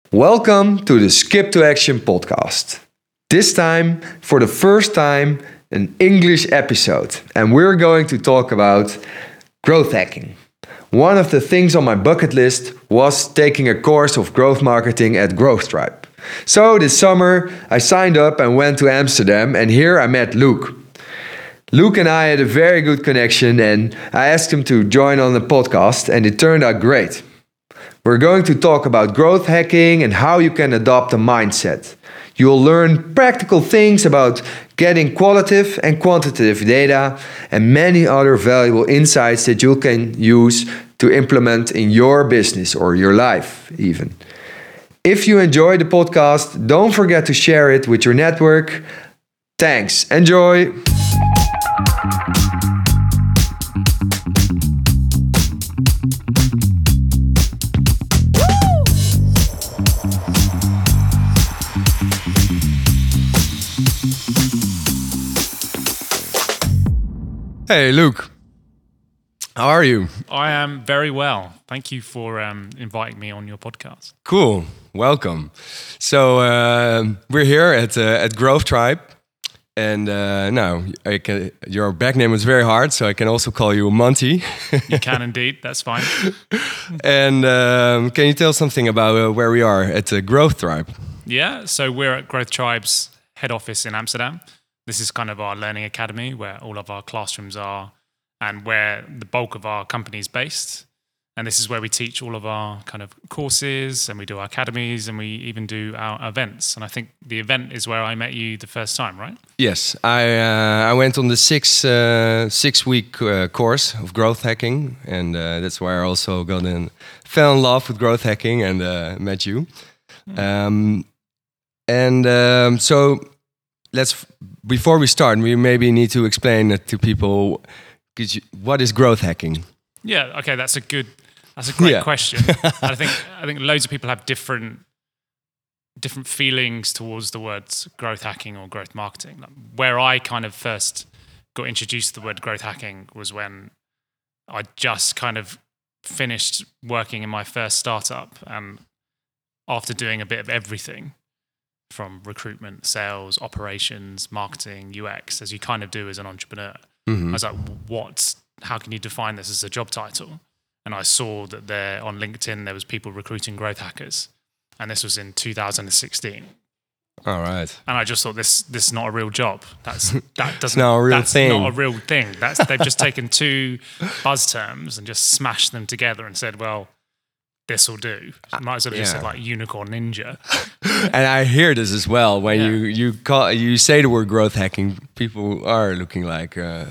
Welcome to the Skip to Action podcast. This time, for the first time, an English episode, and we're going to talk about growth hacking. One of the things on my bucket list was taking a course of growth marketing at Growth Tribe. So this summer, I signed up and went to Amsterdam, and here I met Luke. Luke and I had a very good connection, and I asked him to join on the podcast, and it turned out great. We're going to talk about growth hacking and how you can adopt a mindset. You'll learn practical things about getting qualitative and quantitative data and many other valuable insights that you can use to implement in your business or your life even. If you enjoy the podcast, don't forget to share it with your network. Thanks. Enjoy. Hey, Luke. How are you? I am very well. Thank you for inviting me on your podcast. Cool. Welcome. So we're here at Growth Tribe, and now your back name is very hard, so I can also call you Monty. You can indeed. That's fine. And can you tell something about where we are at Growth Tribe? Yeah. So we're at Growth Tribe's head office in Amsterdam. This is kind of our learning academy where all of our classrooms are and where the bulk of our company is based. And this is where we teach all of our kind of courses, and we do our academies, and we even do our events. And I think the event is where I met you the first time, right? Yes, I went on the six-week course of growth hacking, and that's where I also fell in love with growth hacking and met you. So before we start, we maybe need to explain it to people. What is growth hacking? Yeah, okay, that's a great question. I think loads of people have different feelings towards the words growth hacking or growth marketing. Where I kind of first got introduced to the word growth hacking was when I just kind of finished working in my first startup, and after doing a bit of everything from recruitment, sales, operations, marketing, UX, as you kind of do as an entrepreneur. Mm-hmm. I was like, how can you define this as a job title? And I saw that there on LinkedIn, there was people recruiting growth hackers. And this was in 2016. All right. And I just thought this is not a real job. That's not a real thing. They've just taken two buzz terms and just smashed them together and said, well, this will do. Might as well have just said like unicorn ninja. And I hear this as well. When you say the word growth hacking, people are looking like,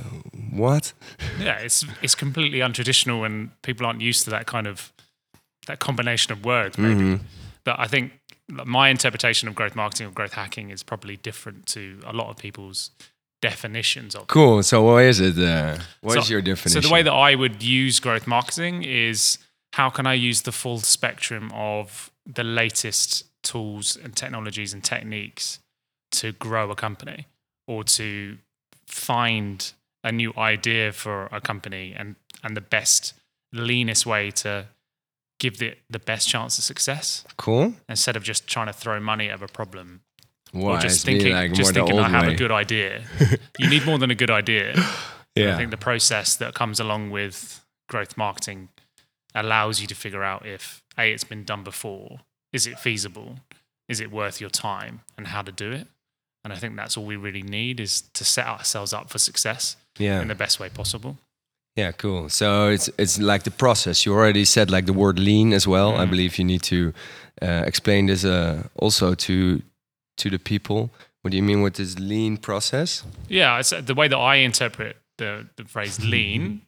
what? Yeah, it's completely untraditional, and people aren't used to that combination of words, maybe. Mm-hmm. But I think my interpretation of growth marketing or growth hacking is probably different to a lot of people's definitions of it. Cool. So what is it? What is your definition? So the way that I would use growth marketing is, how can I use the full spectrum of the latest tools and technologies and techniques to grow a company, or to find a new idea for a company and the best, leanest way to give the best chance of success. Cool. Instead of just trying to throw money at a problem. Why? Or just thinking I have a good idea. You need more than a good idea. Yeah. I think the process that comes along with growth marketing allows you to figure out if it's been done before, is it feasible, is it worth your time, and how to do it. And I think that's all we really need, is to set ourselves up for success in the best way possible. Yeah, cool. So it's like the process. You already said like the word lean as well. I believe you need to explain this also to the people. What do you mean with this lean process? Yeah, it's the way that I interpret the phrase lean.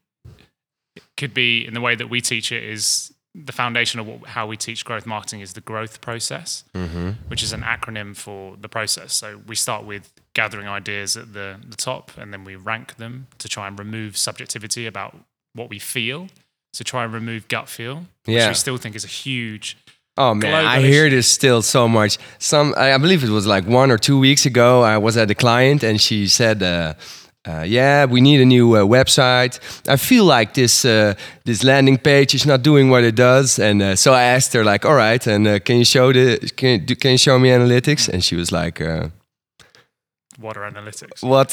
Could be, in the way that we teach it, is the foundation of how we teach growth marketing is the growth process, which is an acronym for the process. So we start with gathering ideas at the top, and then we rank them to try and remove subjectivity about what we feel. So try and remove gut feel, which we still think is a huge Oh man, I hear this still so much. I believe it was like 1 or 2 weeks ago, I was at a client and she said, we need a new website. I feel like this landing page is not doing what it does, and so I asked her like, all right, and can you show me analytics? And she was like, what are analytics? What?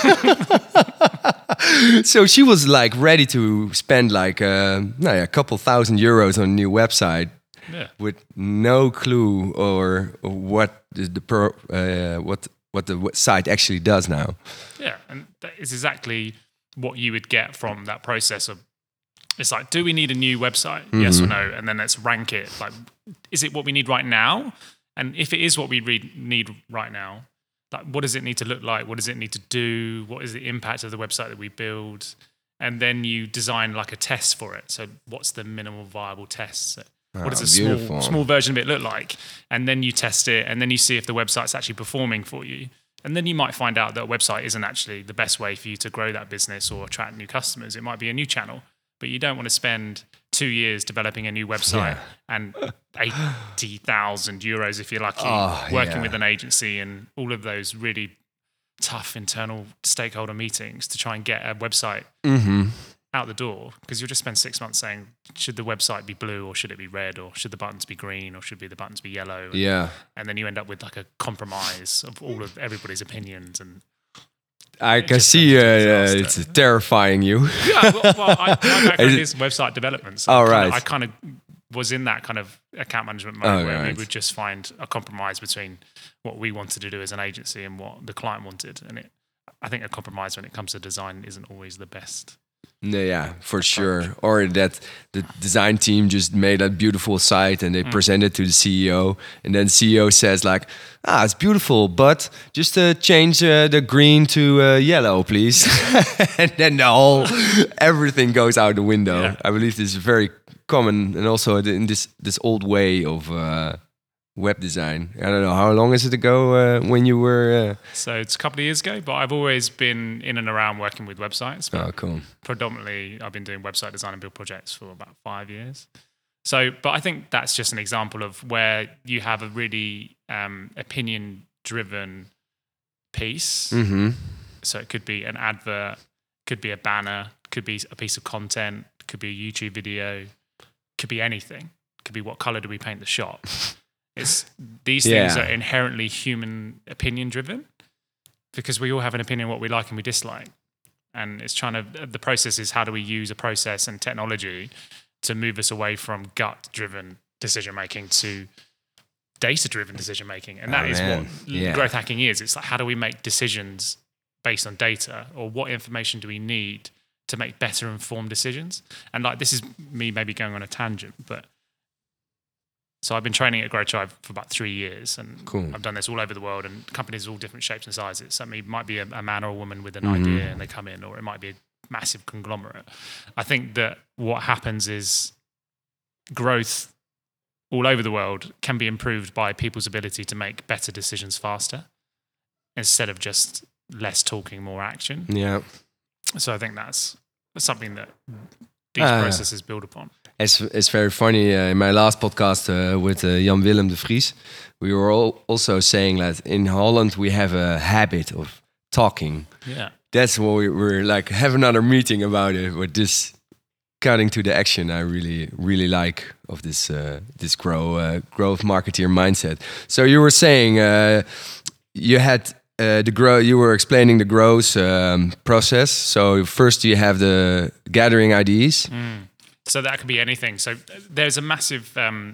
So she was like ready to spend like a couple €1,000 on a new website. Yeah. With no clue or what what the site actually does now. Yeah, and that is exactly what you would get from that process of, it's like, do we need a new website? Yes or no? And then let's rank it. Like, is it what we need right now? And if it is what we need right now, like, what does it need to look like? What does it need to do? What is the impact of the website that we build? And then you design like a test for it. So what's the minimal viable test? What does a small version of it look like? And then you test it, and then you see if the website's actually performing for you. And then you might find out that a website isn't actually the best way for you to grow that business or attract new customers. It might be a new channel, but you don't want to spend 2 years developing a new website and €80,000 if you're lucky, working with an agency and all of those really tough internal stakeholder meetings to try and get a website out the door, because you'll just spend 6 months saying, should the website be blue or should it be red, or should the buttons be green or should the buttons be yellow? And then you end up with like a compromise of all of everybody's opinions. And I can see it's terrifying you. Yeah, well my background is website development. So I kind of was in that kind of account management mode where we would just find a compromise between what we wanted to do as an agency and what the client wanted. And I think a compromise when it comes to design isn't always the best. Yeah, for sure. Or that the design team just made a beautiful site and they present it to the CEO, and then CEO says like, it's beautiful, but just change the green to yellow, please. And then everything goes out the window. Yeah. I believe this is very common, and also in this old way of web design. I don't know, how long is it ago when you were... So it's a couple of years ago, but I've always been in and around working with websites. Oh, cool. Predominantly, I've been doing website design and build projects for about 5 years. So, but I think that's just an example of where you have a really opinion-driven piece. So it could be an advert, could be a banner, could be a piece of content, could be a YouTube video, could be anything. Could be what color do we paint the shop. These things are inherently human opinion driven, because we all have an opinion what we like and we dislike. And the process is, how do we use a process and technology to move us away from gut driven decision making to data driven decision making. And that is what growth hacking is. It's like, how do we make decisions based on data, or what information do we need to make better informed decisions? And like, this is me maybe going on a tangent, but so I've been training at Growth Tribe for about 3 years, and I've done this all over the world, and companies of all different shapes and sizes. So it might be a man or a woman with an idea and they come in, or it might be a massive conglomerate. I think that what happens is growth all over the world can be improved by people's ability to make better decisions faster, instead of just less talking, more action. Yeah. So I think that's something that these processes build upon. It's very funny. In my last podcast with Jan Willem de Vries, we were also saying that in Holland we have a habit of talking. Yeah, that's what we're like. Have another meeting about it. With this cutting to the action, I really like of this growth marketeer mindset. So you were saying you had the grow. You were explaining the growth process. So first you have the gathering ideas. So that could be anything. So there's a massive,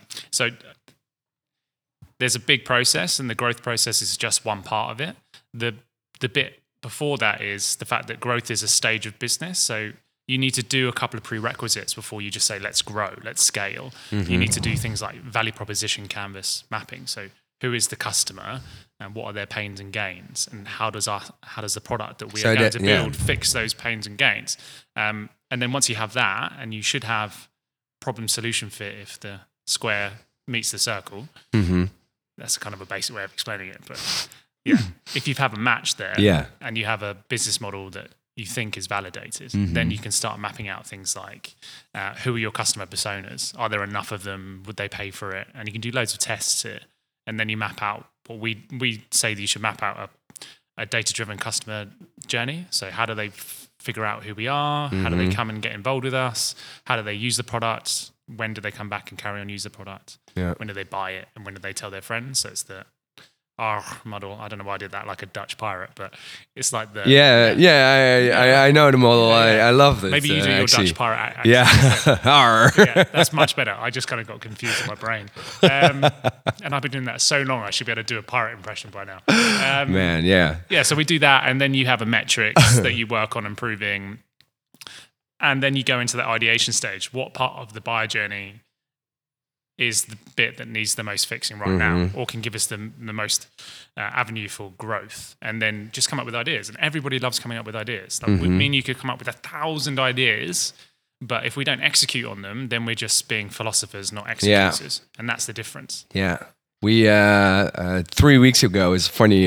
there's a big process, and the growth process is just one part of it. The bit before that is the fact that growth is a stage of business. So you need to do a couple of prerequisites before you just say, let's grow, let's scale. You need to do things like value proposition canvas mapping. So who is the customer, and what are their pains and gains, and how does the product that we are going to build fix those pains and gains? And then once you have that, and you should have problem solution fit if the square meets the circle. That's kind of a basic way of explaining it. But if you have a match there, and you have a business model that you think is validated, then you can start mapping out things like who are your customer personas? Are there enough of them? Would they pay for it? And you can do loads of tests to it. And then you map out what we say that you should map out a data-driven customer journey. So how do they figure out who we are? How do they come and get involved with us? How do they use the product? When do they come back and carry on use the product? Yeah. When do they buy it? And when do they tell their friends? So it's the R model. I don't know why I did that like a Dutch pirate, but it's like the... I know the model. I love this. Maybe you do your actually. Dutch pirate accent. Yeah. Arr. Yeah, that's much better. I just kind of got confused in my brain. And I've been doing that so long, I should be able to do a pirate impression by now. Man, yeah. Yeah, so we do that, and then you have a metrics that you work on improving. And then you go into the ideation stage. What part of the buyer journey is the bit that needs the most fixing right now, or can give us the most avenue for growth? And then just come up with ideas. And everybody loves coming up with ideas. Like, me and you could come up with 1,000 ideas, but if we don't execute on them, then we're just being philosophers, not executors. And that's the difference. Yeah. We 3 weeks ago, it's funny.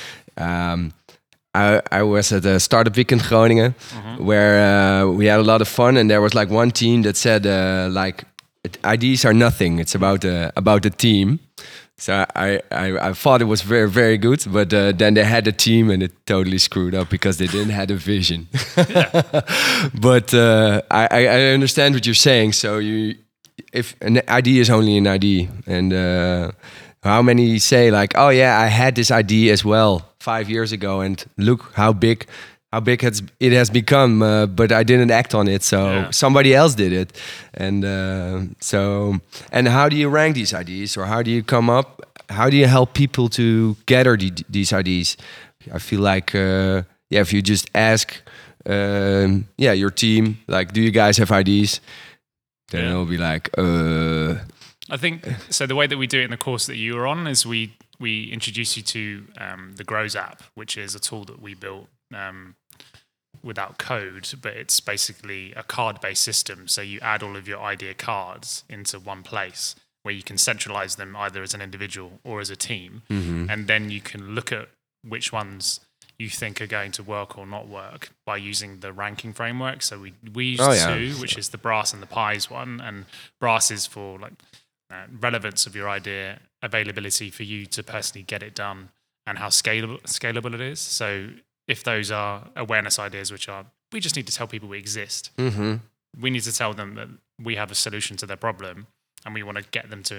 I was at the Startup Week in Groningen, where we had a lot of fun, and there was like one team that said like, ideas are nothing. It's about the team. So I thought it was very, very good, but then they had a team and it totally screwed up because they didn't have a vision. But I understand what you're saying. So if an idea is only an idea, and how many say like, oh yeah, I had this idea as well 5 years ago, and look how big it has become, but I didn't act on it, so somebody else did it. And and how do you rank these ideas, or how do you help people to gather these ideas? I feel like if you just ask your team, like, do you guys have ideas, then it'll be like I think so. The way that we do it in the course that you were on is we introduce you to the Grows app, which is a tool that we built without code, but it's basically a card-based system. So you add all of your idea cards into one place where you can centralize them either as an individual or as a team. And then you can look at which ones you think are going to work or not work by using the ranking framework. So we use two, which is the Brass and the Pies one. And Brass is for like relevance of your idea, availability for you to personally get it done, and how scalable it is. So if those are awareness ideas, which are, we just need to tell people we exist. We need to tell them that we have a solution to their problem, and we want to get them to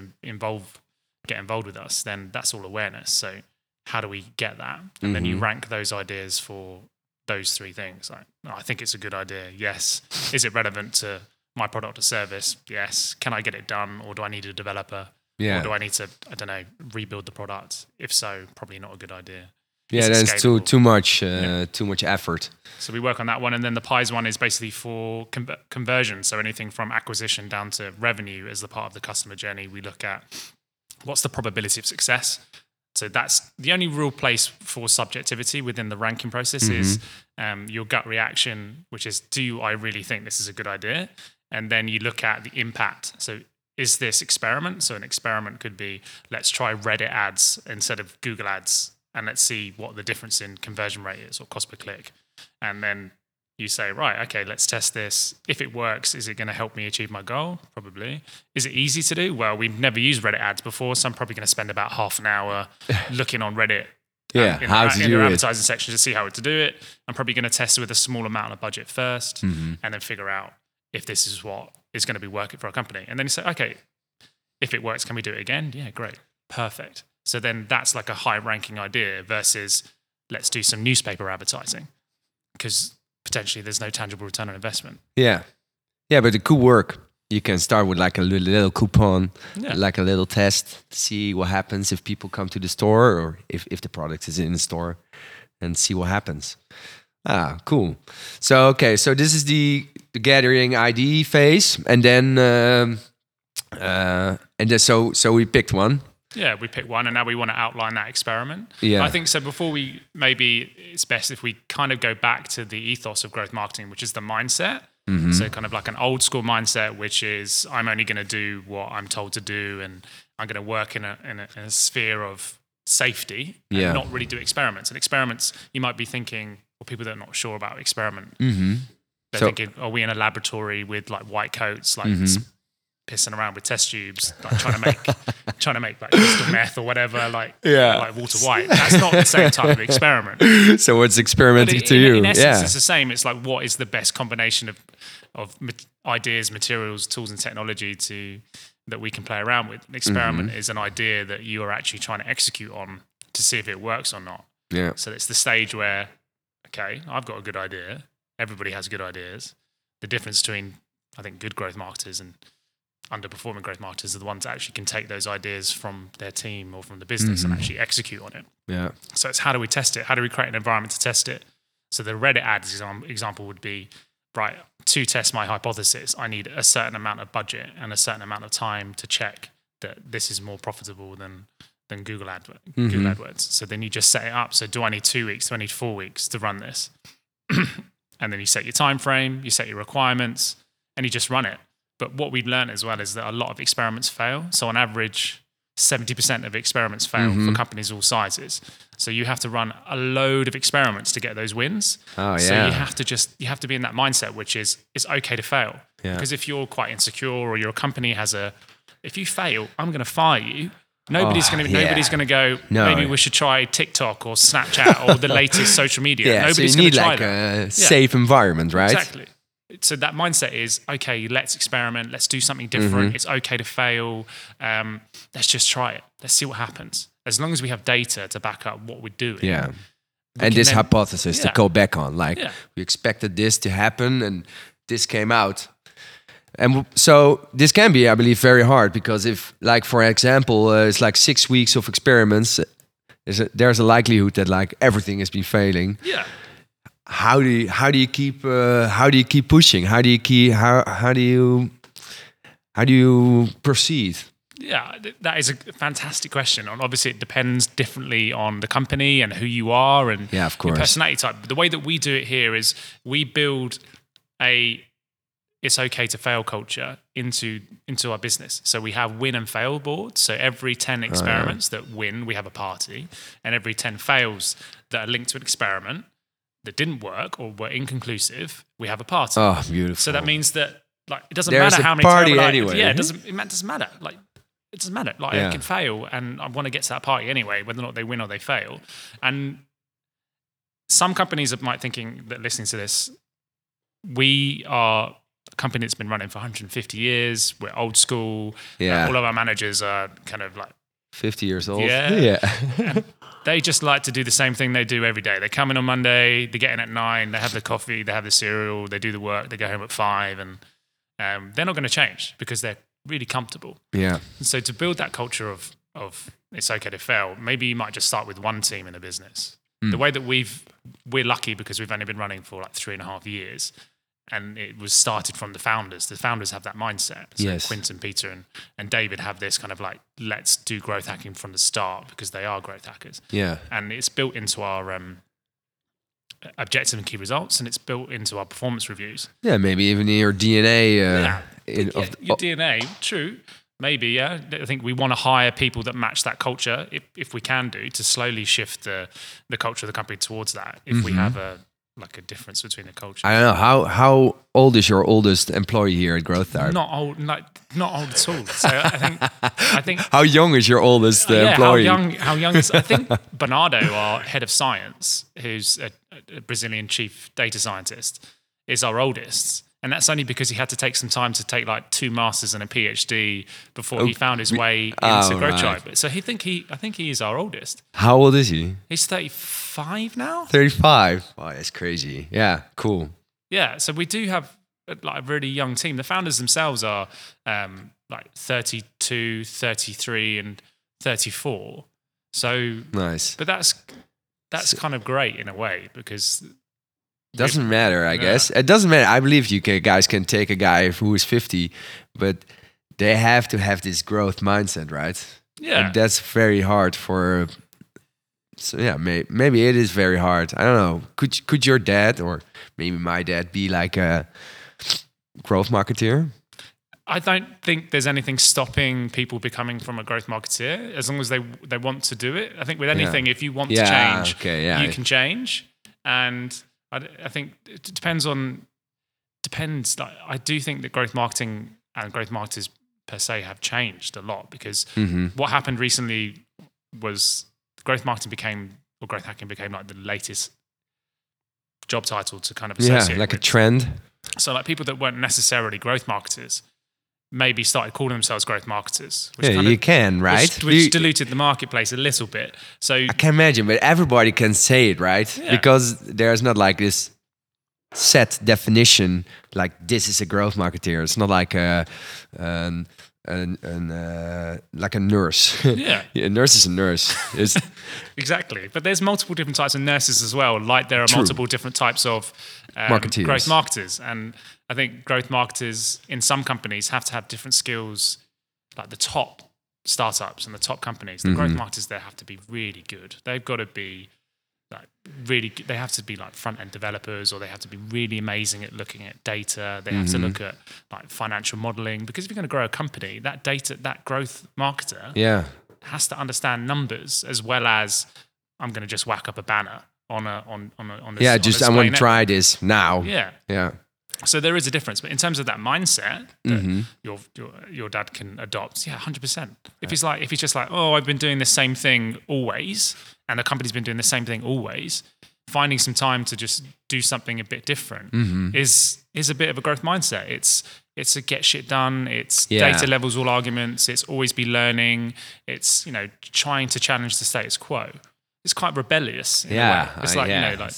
get involved with us, then that's all awareness. So how do we get that? And then you rank those ideas for those three things. Like, I think it's a good idea. Yes. Is it relevant to my product or service? Yes. Can I get it done, or do I need a developer? Or do I need to, I don't know, rebuild the product? If so, probably not a good idea. Yeah, that's too much effort. So we work on that one, and then the Pies one is basically for conversion. So anything from acquisition down to revenue as the part of the customer journey. We look at what's the probability of success. So that's the only real place for subjectivity within the ranking process is your gut reaction, which is, do I really think this is a good idea? And then you look at the impact. So is this experiment? So an experiment could be, let's try Reddit ads instead of Google ads, and let's see what the difference in conversion rate is, or cost per click. And then you say, right, okay, let's test this. If it works, is it going to help me achieve my goal? Probably. Is it easy to do? Well, we've never used Reddit ads before, so I'm probably going to spend about half an hour looking on Reddit in their advertising section to see how to do it. I'm probably going to test it with a small amount of budget first, and then figure out if this is what is going to be working for our company. And then you say, okay, if it works, can we do it again? Yeah, great. Perfect. So then that's like a high ranking idea versus let's do some newspaper advertising, because potentially there's no tangible return on investment. Yeah, but it could work. You can start with like a little coupon, like a little test, see what happens if people come to the store, or if the product is in the store, and see what happens. Ah, cool. So this is the gathering ID phase, and then so we picked one. Yeah, we picked one, and now we want to outline that experiment. Yeah. I think so. Before maybe it's best if we kind of go back to the ethos of growth marketing, which is the mindset. So kind of like an old school mindset, which is I'm only going to do what I'm told to do, and I'm going to work in a sphere of safety and not really do experiments. And experiments, you might be thinking, or people that are not sure about experiment, they're thinking, are we in a laboratory with like white coats, like pissing around with test tubes, like trying to make like crystal meth or whatever, like Walter White. That's not the same type of experiment. So what's experimenting to you? In essence, it's the same. It's like, what is the best combination of ideas, materials, tools, and technology that we can play around with? An experiment is an idea that you are actually trying to execute on to see if it works or not. Yeah. So it's the stage where, okay, I've got a good idea. Everybody has good ideas. The difference between, I think, good growth marketers and underperforming growth marketers are the ones that actually can take those ideas from their team or from the business and actually execute on it. Yeah. So it's, how do we test it? How do we create an environment to test it? So the Reddit ads example would be, right, to test my hypothesis, I need a certain amount of budget and a certain amount of time to check that this is more profitable than Google AdWords. So then you just set it up. So do I need 2 weeks? Do I need 4 weeks to run this? And then you set your time frame, you set your requirements, and you just run it. But what we've learned as well is that a lot of experiments fail. So on average, 70% of experiments fail for companies all sizes. So you have to run a load of experiments to get those wins. Oh, yeah. So you have to be in that mindset, which is, it's okay to fail. Yeah. Because if you're quite insecure or your company if you fail, I'm going to fire you. Nobody's going to go, maybe we should try TikTok or Snapchat or the latest social media. Yeah, Nobody's so you need going to like try a safe environment, right? Exactly. So that mindset is, okay, let's experiment. Let's do something different. It's okay to fail. Let's just try it. Let's see what happens. As long as we have data to back up what we're doing. Yeah. And this hypothesis to go back on, like we expected this to happen and this came out. And so this can be, I believe, very hard because if, like, for example, it's like 6 weeks of experiments, there's a likelihood that like everything has been failing. Yeah. How do you keep pushing? How do you proceed? Yeah, that is a fantastic question. And obviously, it depends differently on the company and who you are and of course, your personality type. But the way that we do it here is we build it's okay to fail culture into our business. So we have win and fail boards. So every 10 experiments that win, we have a party. And every 10 fails that are linked to an experiment that didn't work or were inconclusive, we have a party. Oh, beautiful. So that means that, like, it doesn't There's matter how many party anyway. Yeah, it doesn't matter. Like, it doesn't matter. Like, I can fail and I want to get to that party anyway, whether or not they win or they fail. And some companies might thinking that listening to this, we are a company that's been running for 150 years. We're old school. Yeah. All of our managers are kind of like 50 years old. Yeah. They just like to do the same thing they do every day. They come in on Monday, they get in at 9, they have the coffee, they have the cereal, they do the work, they go home at 5, and they're not going to change because they're really comfortable. Yeah. And so to build that culture of it's okay to fail, maybe you might just start with one team in a business. The way that we're lucky because we've only been running for like 3.5 years. And it was started from the founders. The founders have that mindset. So yes. Quinton, Peter, and David have this kind of like, let's do growth hacking from the start because they are growth hackers. Yeah. And it's built into our objective and key results, and it's built into our performance reviews. Yeah, maybe even in your DNA. Your DNA, true. Maybe, yeah. I think we want to hire people that match that culture, if we can do, to slowly shift the culture of the company towards that. If we have a difference between the culture. I don't know how old is your oldest employee here at Growth Type? Not old at all. So I think. How young is your oldest employee? How young is? I think Bernardo, our head of science, who's a Brazilian chief data scientist, is our oldest. And that's only because he had to take some time to take like 2 masters and a PhD before he found his way into Growth Tribe. So I think he is our oldest. How old is he? He's 35 now. 35. Wow, that's crazy. Yeah, cool. Yeah, so we do have like a really young team. The founders themselves are like 32, 33, and 34. So nice. But that's kind of great in a way because. Doesn't matter, I guess. It doesn't matter. I believe you guys can take a guy who is 50, but they have to have this growth mindset, right? Yeah. And that's very hard for. So yeah, maybe it is very hard. I don't know. Could your dad or maybe my dad be like a growth marketeer? I don't think there's anything stopping people becoming from a growth marketeer as long as they want to do it. I think with anything, if you want to change, you can change. And I think it depends. Like, I do think that growth marketing and growth marketers per se have changed a lot, because Mm-hmm. what happened recently was growth hacking became like the latest job title to kind of associate like a with. trend. So like people that weren't necessarily growth marketers maybe started calling themselves growth marketers, which Yeah, you can, right? which diluted the marketplace a little bit. So I can imagine, but everybody can say it, right? Yeah. Because there's not like this set definition, like this is a growth marketeer. It's not like like a nurse. Yeah. A nurse is a nurse. It's, exactly. But there's multiple different types of nurses as well. Like there are True. multiple different types of Marketeers. growth marketers. And I think growth marketers in some companies have to have different skills, like the top startups and the top companies. The growth marketers there have to be really good. They've got to be like really good. They have to be like front end developers, or they have to be really amazing at looking at data. They have to look at like financial modeling, because if you're going to grow a company, that growth marketer yeah. has to understand numbers as well as I'm going to just whack up a banner on this. Yeah, on just I display want to network. try this now. Yeah. Yeah. So there is a difference, but in terms of that mindset that your dad can adopt, yeah, 100%. If he's just like, oh, I've been doing the same thing always, and the company's been doing the same thing always, finding some time to just do something a bit different is a bit of a growth mindset. It's a get shit done. It's data levels, all arguments. It's always be learning. It's trying to challenge the status quo. It's quite rebellious. In a way. It's like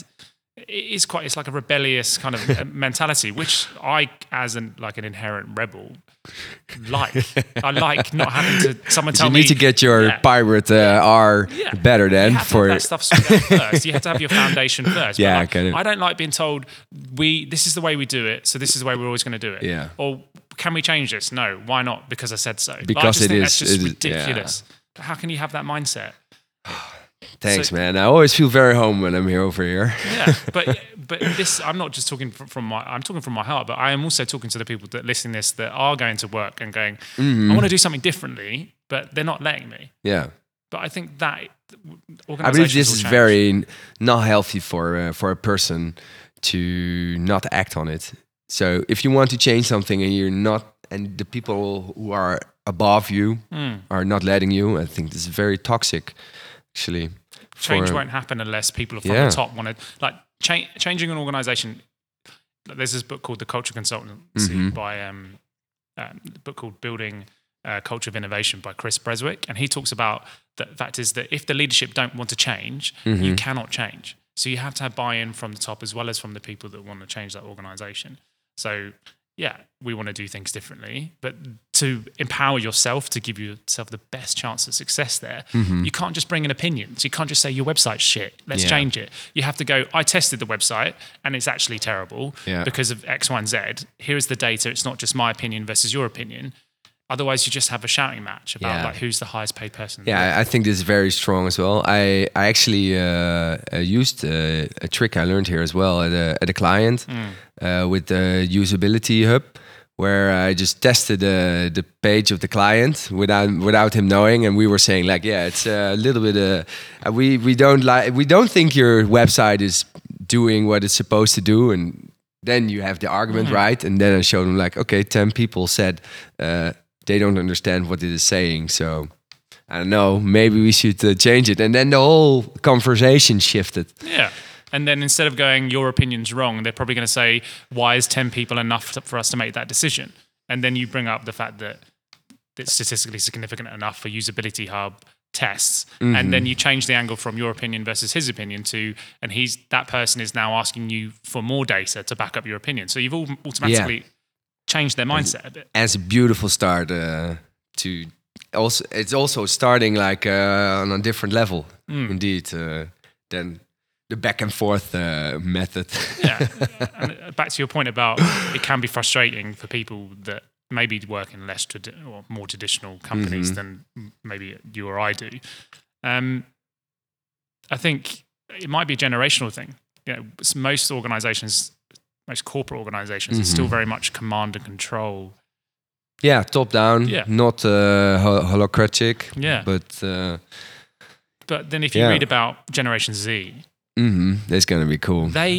it's like a rebellious kind of mentality, which I, as an inherent rebel, like. I like not having to someone tell You me. need to get your pirate R better then you have to have that stuff sorted out first. You have to have your foundation first. Yeah, but I don't like being told this is the way we do it, so this is the way we're always going to do it. Yeah. Or can we change this? No. Why not? Because I said so. Because I just think that's just ridiculous. But how can you have that mindset? Thanks, man. I always feel very home when I'm over here. Yeah, but this, I'm not just talking I'm talking from my heart, but I am also talking to the people that listen to this that are going to work and going, I want to do something differently, but they're not letting me. Yeah. But I think that I believe this is very not healthy for a person to not act on it. So if you want to change something and you're not, and the people who are above you are not letting you, I think this is very toxic, actually. Change won't happen unless people from the top want to changing an organization. There's this book called The Culture Consultancy by a book called Building a Culture of Innovation by Chris Breswick, and he talks about the fact is that if the leadership don't want to change, you cannot change. So you have to have buy-in from the top as well as from the people that want to change that organization. So yeah, we want to do things differently, but to empower yourself, to give yourself the best chance of success there, you can't just bring in opinions. You can't just say your website's shit, let's change it. You have to go, I tested the website and it's actually terrible because of X, Y, and Z. Here's the data. It's not just my opinion versus your opinion. Otherwise, you just have a shouting match about like who's the highest paid person. Yeah, I think this is very strong as well. I actually used a trick I learned here as well at a client with the usability hub, where I just tested the page of the client without him knowing, and we were saying like, yeah, it's a little bit. We don't think your website is doing what it's supposed to do, and then you have the argument, right? And then I showed him like, okay, 10 people said. They don't understand what it is saying, so I don't know. Maybe we should change it, and then the whole conversation shifted. Yeah, and then instead of going, your opinion's wrong, they're probably going to say, why is 10 people enough for us to make that decision? And then you bring up the fact that it's statistically significant enough for usability hub tests, and then you change the angle from your opinion versus his opinion to, and that person is now asking you for more data to back up your opinion. So you've all automatically. Change their mindset a bit. As a beautiful start to also, it's also starting like on a different level, indeed, than the back and forth method. Yeah, and back to your point about it can be frustrating for people that maybe work in less or more traditional companies than maybe you or I do. I think it might be a generational thing. Most organizations. Most corporate organizations are still very much command and control. Yeah, top down, not holocratic. Yeah. But then if you read about Generation Z, that's going to be cool. They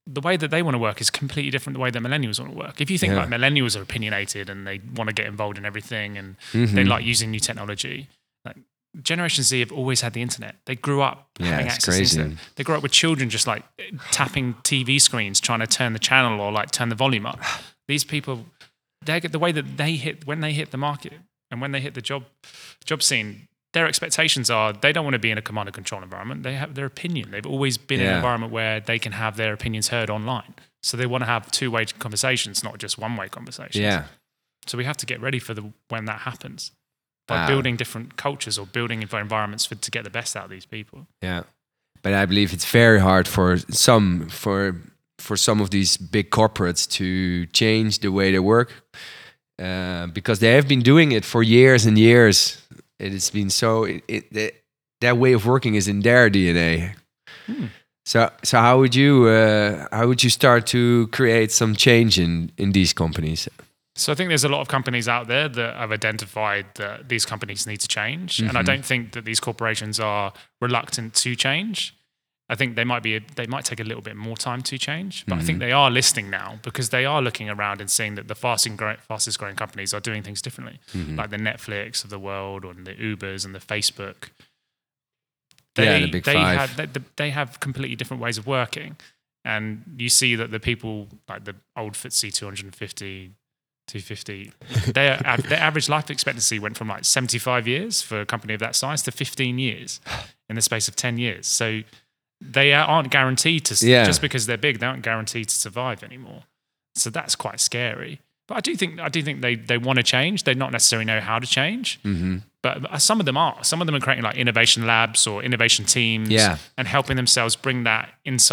the way that they want to work is completely different the way that millennials want to work. If you think like millennials are opinionated and they want to get involved in everything and they like using new technology, like Generation Z have always had the internet. They grew up having access to the internet. They grew up with children just like tapping TV screens, trying to turn the channel or like turn the volume up. These people, they get the way that when they hit the market and when they hit the job scene, their expectations are they don't want to be in a command and control environment. They have their opinion. They've always been in an environment where they can have their opinions heard online. So they want to have two-way conversations, not just one-way conversations. Yeah. So we have to get ready for when that happens by building different cultures or building environments to get the best out of these people. Yeah, but I believe it's very hard for some of these big corporates to change the way they work because they have been doing it for years and years. It has been that way of working is in their DNA. So how would you start to create some change in these companies? So I think there's a lot of companies out there that have identified that these companies need to change, and I don't think that these corporations are reluctant to change. I think they might take a little bit more time to change, but I think they are listening now because they are looking around and seeing that the fastest growing companies are doing things differently, like the Netflix of the world or the Ubers and the Facebook. The big five. They have completely different ways of working, and you see that the people like the old FTSE 250. 250. Their average life expectancy went from like 75 years for a company of that size to 15 years in the space of 10 years. So they aren't guaranteed to, just because they're big, they aren't guaranteed to survive anymore. So that's quite scary. But I do think they want to change. They not necessarily know how to change. But some of them are. Some of them are creating like innovation labs or innovation teams and helping themselves bring that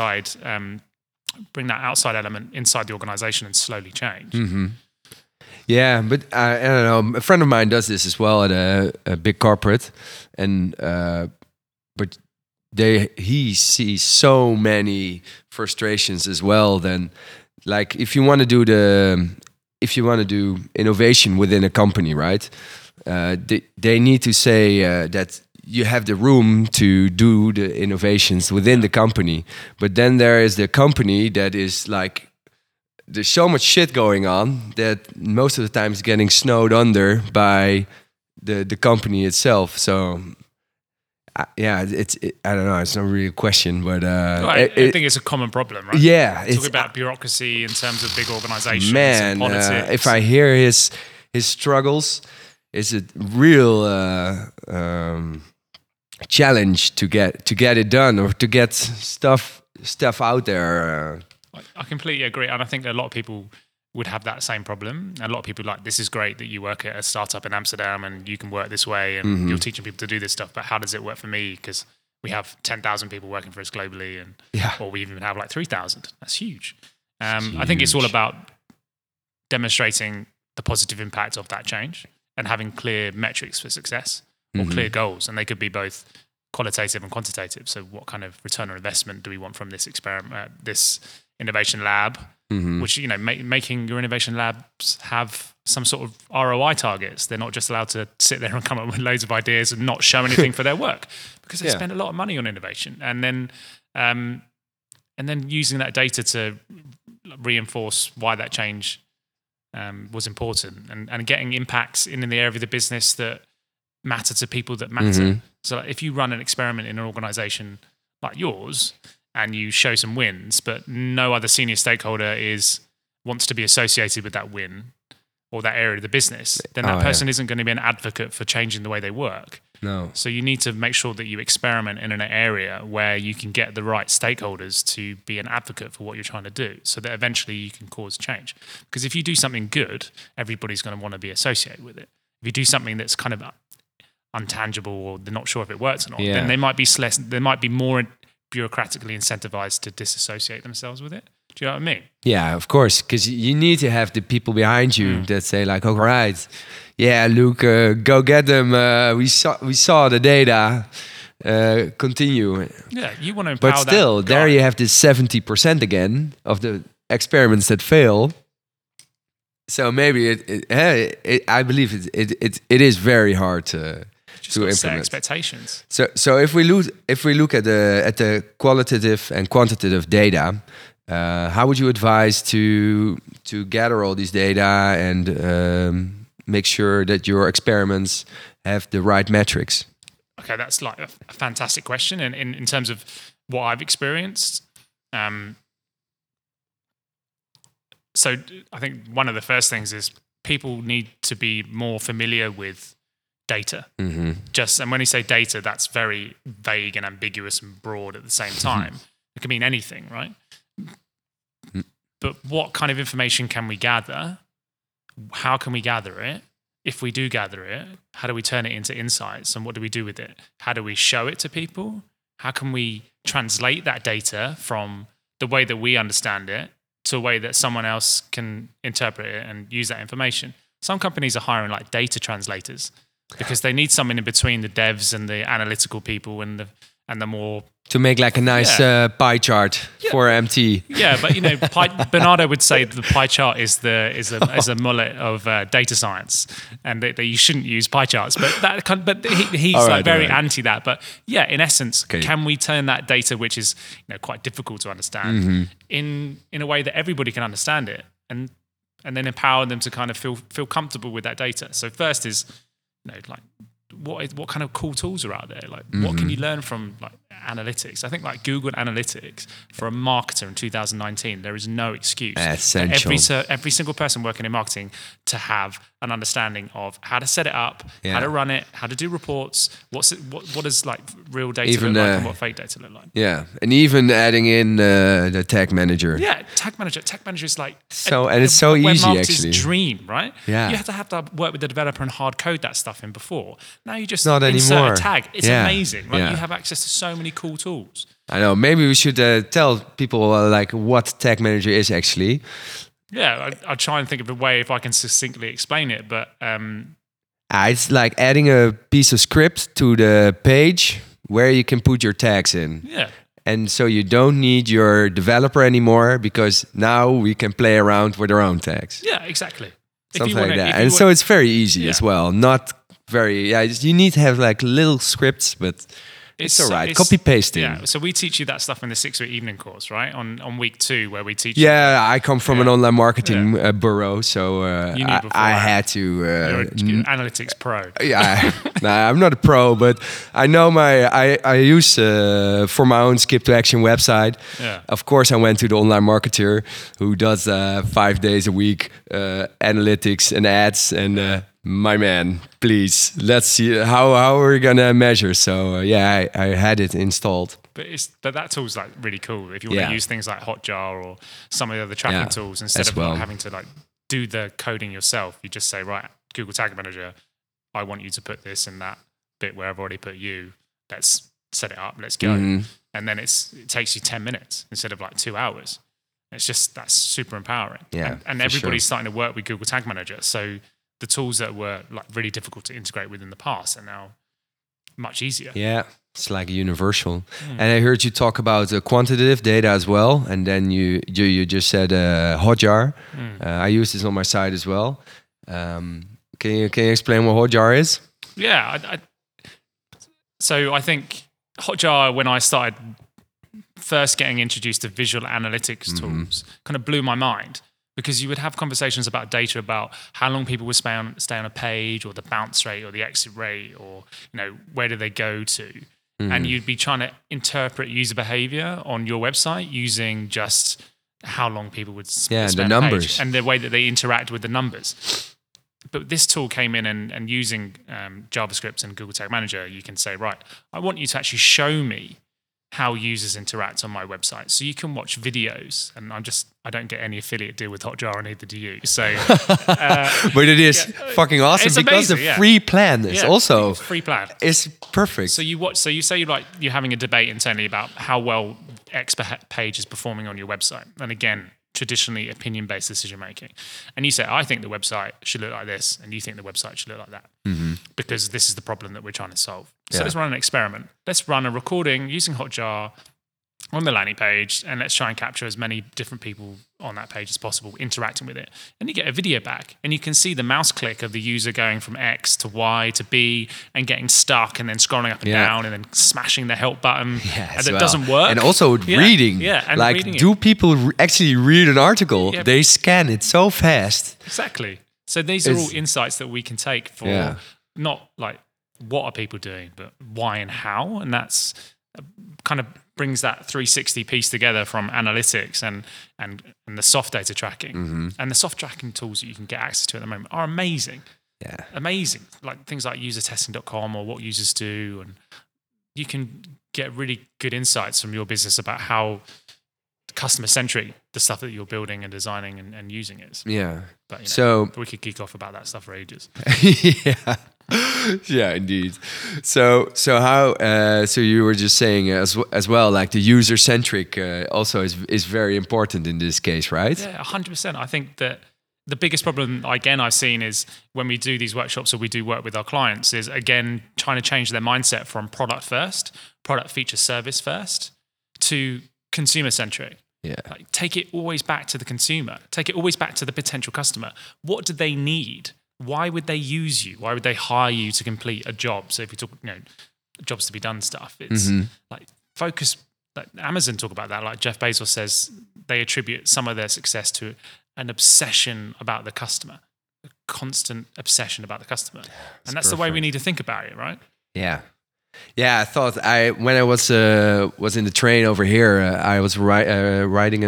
outside element inside the organization and slowly change. Yeah, but I don't know. A friend of mine does this as well at a big corporate, and but he sees so many frustrations as well. Then, like if you want to do innovation within a company, right? They need to say that you have the room to do the innovations within the company, but then there is the company that is like. There's so much shit going on that most of the time is getting snowed under by the company itself. So, I don't know. It's not really a question, but I think it's a common problem, right? Yeah, talk about bureaucracy in terms of big organizations. Man, and politics. If I hear his struggles, it's a real challenge to get it done or to get stuff out there. I completely agree, and I think a lot of people would have that same problem. A lot of people like, this is great that you work at a startup in Amsterdam and you can work this way and you're teaching people to do this stuff, but how does it work for me? Because we have 10,000 people working for us globally, or we even have like 3,000. That's huge. I think it's all about demonstrating the positive impact of that change and having clear metrics for success or clear goals, and they could be both qualitative and quantitative. So what kind of return on investment do we want from this experiment, this innovation lab, which, making your innovation labs have some sort of ROI targets. They're not just allowed to sit there and come up with loads of ideas and not show anything for their work because they spend a lot of money on innovation. And then using that data to reinforce why that change was important and getting impacts in the area of the business that matter to people that matter. So if you run an experiment in an organization like yours and you show some wins, but no other senior stakeholder wants to be associated with that win or that area of the business, then that person isn't going to be an advocate for changing the way they work. No. So you need to make sure that you experiment in an area where you can get the right stakeholders to be an advocate for what you're trying to do so that eventually you can cause change. Because if you do something good, everybody's going to want to be associated with it. If you do something that's kind of untangible or they're not sure if it works or not, then they might be more bureaucratically incentivized to disassociate themselves with it. Do you know what I mean? Yeah, of course, because you need to have the people behind you that say like, all right, yeah, Luke, go get them. We saw the data. Continue. Yeah, you want to empower. But still, there you have this 70% again of the experiments that fail. So maybe I believe it is very hard to implement. Set expectations. So if we look at the qualitative and quantitative data, How would you advise to gather all these data and make sure that your experiments have the right metrics? Okay, that's like a fantastic question. And in terms of what I've experienced, so I think one of the first things is people need to be more familiar with data. And when you say data, that's very vague and ambiguous and broad at the same time. It can mean anything, right? But what kind of information can we gather? How can we gather it? If we do gather it, how do we turn it into insights, and what do we do with it? How do we show it to people? How can we translate that data from the way that we understand it to a way that someone else can interpret it and use that information? Some companies are hiring like data translators because they need someone in between the devs and the analytical people and the more... To make like a nice pie chart for MT. Yeah, but you know, Bernardo would say that the pie chart is a mullet of data science, and that you shouldn't use pie charts. But he's very anti that. But yeah, in essence, can we turn that data, which is quite difficult to understand, in a way that everybody can understand it, and then empower them to kind of feel comfortable with that data? So first is like, what kind of cool tools are out there? Like, what can you learn from like analytics? I think like Google Analytics for a marketer in 2019, there is no excuse for every single person working in marketing to have an understanding of how to set it up, how to run it, how to do reports. What does like real data look like, and what fake data look like? Yeah, and even adding in the tag manager. Yeah, tag manager. Tag manager is like it's so easy actually. Dream, right? Yeah, you have to work with the developer and hard code that stuff in before. Now you just not insert anymore. A tag. It's amazing. Right? You have access to so many cool tools. I know. Maybe we should tell people like what Tag Manager is actually. Yeah, I'll try and think of a way if I can succinctly explain it. But it's like adding a piece of script to the page where you can put your tags in. Yeah. And so you don't need your developer anymore because now we can play around with our own tags. Yeah, exactly. Something like that. And so it's very easy as well. Not very, you need to have like little scripts, but it's all right. Copy pasting. Yeah. So we teach you that stuff in the 6-week evening course, right? On week 2, where we teach. Yeah, I come from an online marketing bureau, so I had to. You're an analytics pro. Yeah, I'm not a pro, but I know I use for my own Skip to Action website. Yeah. Of course, I went to the online marketer who does 5 days a week analytics and ads and. My man, please, let's see how are we gonna measure. So I had it installed. But that tool's like really cool if you want to use things like Hotjar or some of the other tracking tools instead of having to like do the coding yourself. You just say, right, Google Tag Manager, I want you to put this in that bit where I've already put you. Let's set it up. Let's go. And then it takes you 10 minutes instead of like 2 hours. That's super empowering. Yeah, and everybody's starting to work with Google Tag Manager. So the tools that were like really difficult to integrate with in the past are now much easier. Yeah, it's like universal. And I heard you talk about quantitative data as well. And then you just said Hotjar. I use this on my site as well. Can you explain what Hotjar is? Yeah, so I think Hotjar, when I started first getting introduced to visual analytics tools, kind of blew my mind. Because you would have conversations about data, about how long people would stay on a page, or the bounce rate, or the exit rate, or where do they go to, and you'd be trying to interpret user behavior on your website using just how long people would spend the numbers and the way that they interact with the numbers. But this tool came in and using JavaScript and Google Tag Manager, you can say, right, I want you to actually show me how users interact on my website. So you can watch videos, and I don't get any affiliate deal with Hotjar, and neither do you. So, but it is fucking awesome because amazing, the free plan is also free plan. It's perfect. So you say you're having a debate internally about how well X page is performing on your website, and again, traditionally opinion-based decision making, and you say, I think the website should look like this, and you think the website should look like that, because this is the problem that we're trying to solve. So let's run an experiment. Let's run a recording using Hotjar on the landing page, and let's try and capture as many different people on that page as possible interacting with it. And you get a video back, and you can see the mouse click of the user going from X to Y to B and getting stuck and then scrolling up and down and then smashing the help button. And it doesn't work. And also reading. Yeah, and like, reading do people actually read an article? Yeah. They scan it so fast. Exactly. So these are all insights that we can take for not like what are people doing, but why and how. And that's kind of brings that 360 piece together from analytics and the soft data tracking. And the soft tracking tools that you can get access to at the moment are amazing. Yeah. Amazing. Like things like usertesting.com or what users do. And you can get really good insights from your business about how customer centric the stuff that you're building and designing and using is. Yeah. But so we could geek off about that stuff for ages. Yeah, indeed. So how? So you were just saying as well, like the user centric also is very important in this case, right? Yeah, 100%. I think that the biggest problem again I've seen is when we do these workshops or we do work with our clients is again trying to change their mindset from product first, product feature service first, to consumer centric. Yeah. Like, take it always back to the consumer. Take it always back to the potential customer. What do they need? Why would they use you? Why would they hire you to complete a job? So if you talk, jobs to be done stuff, it's like focus. Like Amazon talk about that. Like Jeff Bezos says, they attribute some of their success to an obsession about the customer, a constant obsession about the customer, and that's the way we need to think about it, right? Yeah. Yeah, I thought when I was in the train over here, I was reading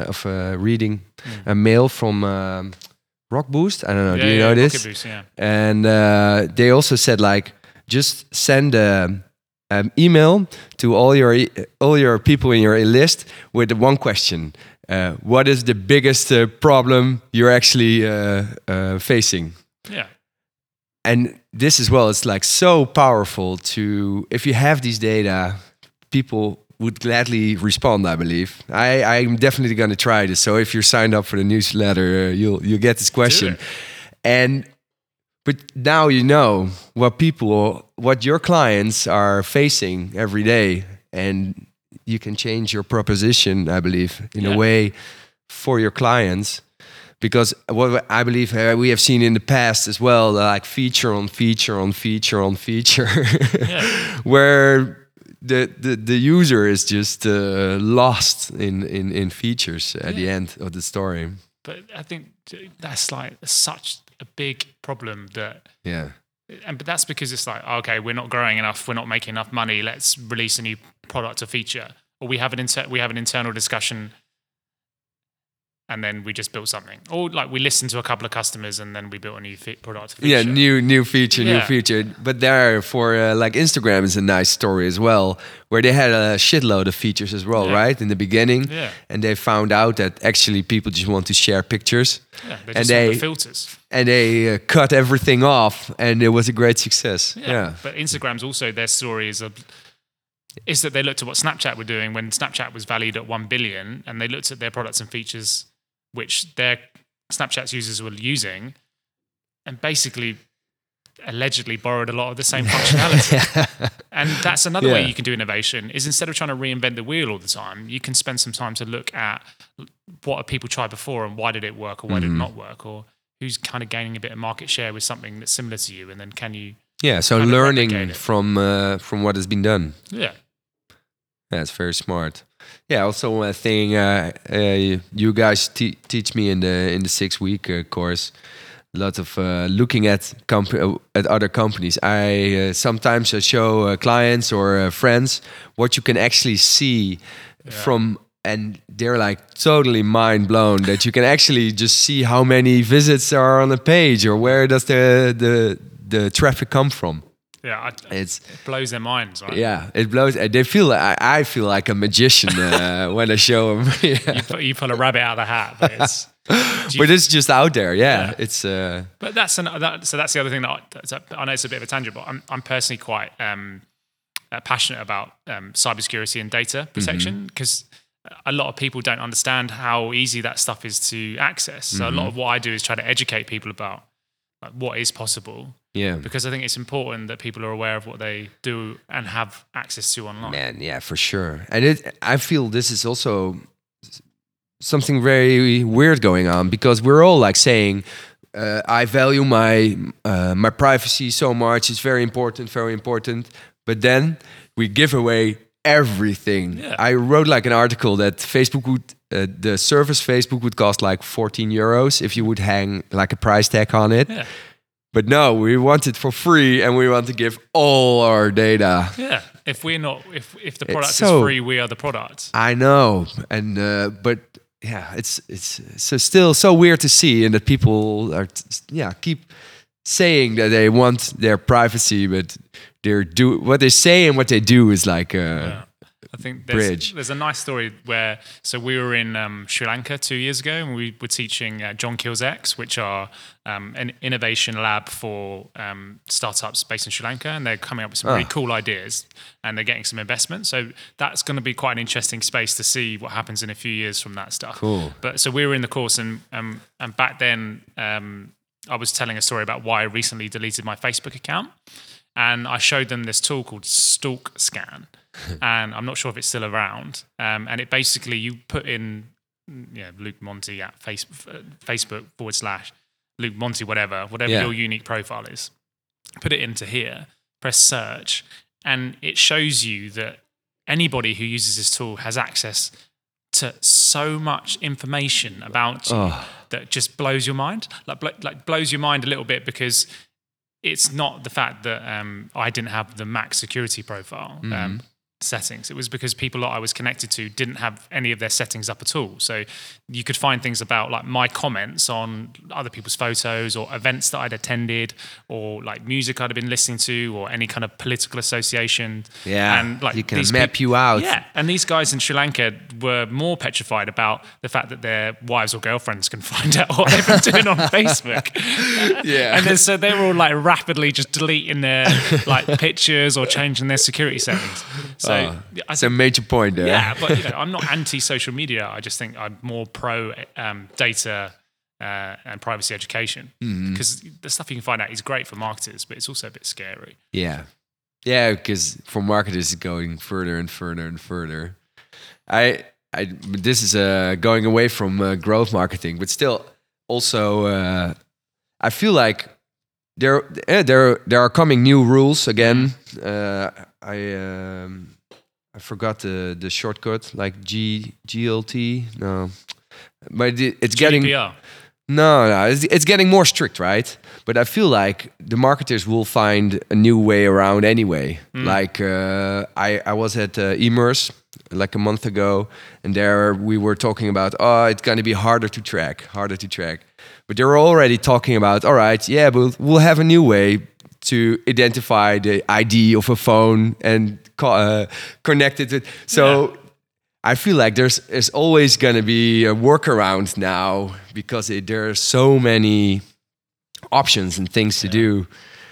a mail from Rock Boost. I don't know. Do you know this? Rocket Boost, yeah. And they also said like just send an email to all your people in your list with one question: what is the biggest problem you're actually facing? Yeah. And this as well, it's like so powerful to, if you have these data, people would gladly respond, I believe. I'm definitely going to try this. So if you're signed up for the newsletter, you'll get this question. But now you know what your clients are facing every day, and you can change your proposition, I believe, in a way for your clients. Because what I believe we have seen in the past as well, like feature on feature on feature on feature, where the user is just lost in features at the end of the story. But I think that's like such a big problem that but that's because it's like, okay, we're not growing enough, we're not making enough money, let's release a new product or feature, or we have an internal discussion. And then we just built something, or like we listened to a couple of customers, and then we built a new product. Feature. Yeah, new feature. But there, for like Instagram is a nice story as well, where they had a shitload of features as well, right, in the beginning. Yeah. And they found out that actually people just want to share pictures. Yeah, they just want the filters. And they cut everything off, and it was a great success. Yeah. But Instagram's also, their story is that they looked at what Snapchat were doing when Snapchat was valued at 1 billion, and they looked at their products and features which their Snapchat's users were using, and basically allegedly borrowed a lot of the same functionality. And that's another way you can do innovation, is instead of trying to reinvent the wheel all the time, you can spend some time to look at what have people tried before and why did it work or why did it not work, or who's kind of gaining a bit of market share with something that's similar to you, and then can you so learning from what has been done. That's very smart. Yeah, also one thing you guys teach me in the 6-week course, a lot of looking at other companies. I sometimes show clients or friends what you can actually see from, and they're like totally mind blown that you can actually just see how many visits are on a page, or where does the traffic come from. Yeah, it blows their minds, right? Yeah, it blows. They feel. I feel like a magician when I show them. You pull a rabbit out of the hat, but it's. But it's just out there. Yeah. It's. But that's the other thing that I know it's a bit of a tangent, but I'm personally quite passionate about cybersecurity and data protection, because a lot of people don't understand how easy that stuff is to access. So a lot of what I do is try to educate people about what is possible. Yeah. Because I think it's important that people are aware of what they do and have access to online. Man, yeah, for sure. And I feel this is also something very weird going on, because we're all like saying, I value my privacy so much. It's very important, very important. But then we give away everything. Yeah. I wrote like an article that Facebook would, the service Facebook would cost like 14 euros if you would hang like a price tag on it. Yeah. But no, we want it for free, and we want to give all our data. Yeah. If the product is so- free, we are the product. I know, and but yeah, it's so still so weird to see, and that people are keep saying that they want their privacy, but what they say and what they do is like I think bridge. there's a nice story where, so we were in Sri Lanka 2 years ago, and we were teaching John Keel's X, which are an innovation lab for startups based in Sri Lanka, and they're coming up with some really cool ideas, and they're getting some investment. So that's going to be quite an interesting space to see what happens in a few years from that stuff. Cool. But so we were in the course, and back then I was telling a story about why I recently deleted my Facebook account, and I showed them this tool called Stalk Scan. And I'm not sure if it's still around. And it basically, you put in Luke Monty at Facebook / Luke Monty, whatever your unique profile is. Put it into here, press search, and it shows you that anybody who uses this tool has access to so much information about you that just blows your mind. Like blows your mind a little bit, because it's not the fact that I didn't have the max security profile settings. It was because people that I was connected to didn't have any of their settings up at all. So you could find things about like my comments on other people's photos, or events that I'd attended, or like music I'd have been listening to, or any kind of political association. Yeah, and like you can map you out. Yeah, and these guys in Sri Lanka were more petrified about the fact that their wives or girlfriends can find out what they've been doing on Facebook. Yeah, and then so they were all like rapidly just deleting their like pictures or changing their security settings. So it's a major point there. Yeah, but I'm not anti-social media. I just think I'm more pro data and privacy education, because the stuff you can find out is great for marketers, but it's also a bit scary. Yeah, because for marketers it's going further and further and further. This is going away from growth marketing, but still, also I feel like there are coming new rules again. I forgot the shortcut, like GLT. No, but it's getting GDPR. No, it's getting more strict, right? But I feel like the marketers will find a new way around anyway. Like I was at Emerce like a month ago, and there we were talking about, it's going to be harder to track. But they were already talking about, all right, yeah, we'll have a new way to identify the ID of a phone and connect it. So I feel like there's always going to be a workaround now, because there are so many options and things to do.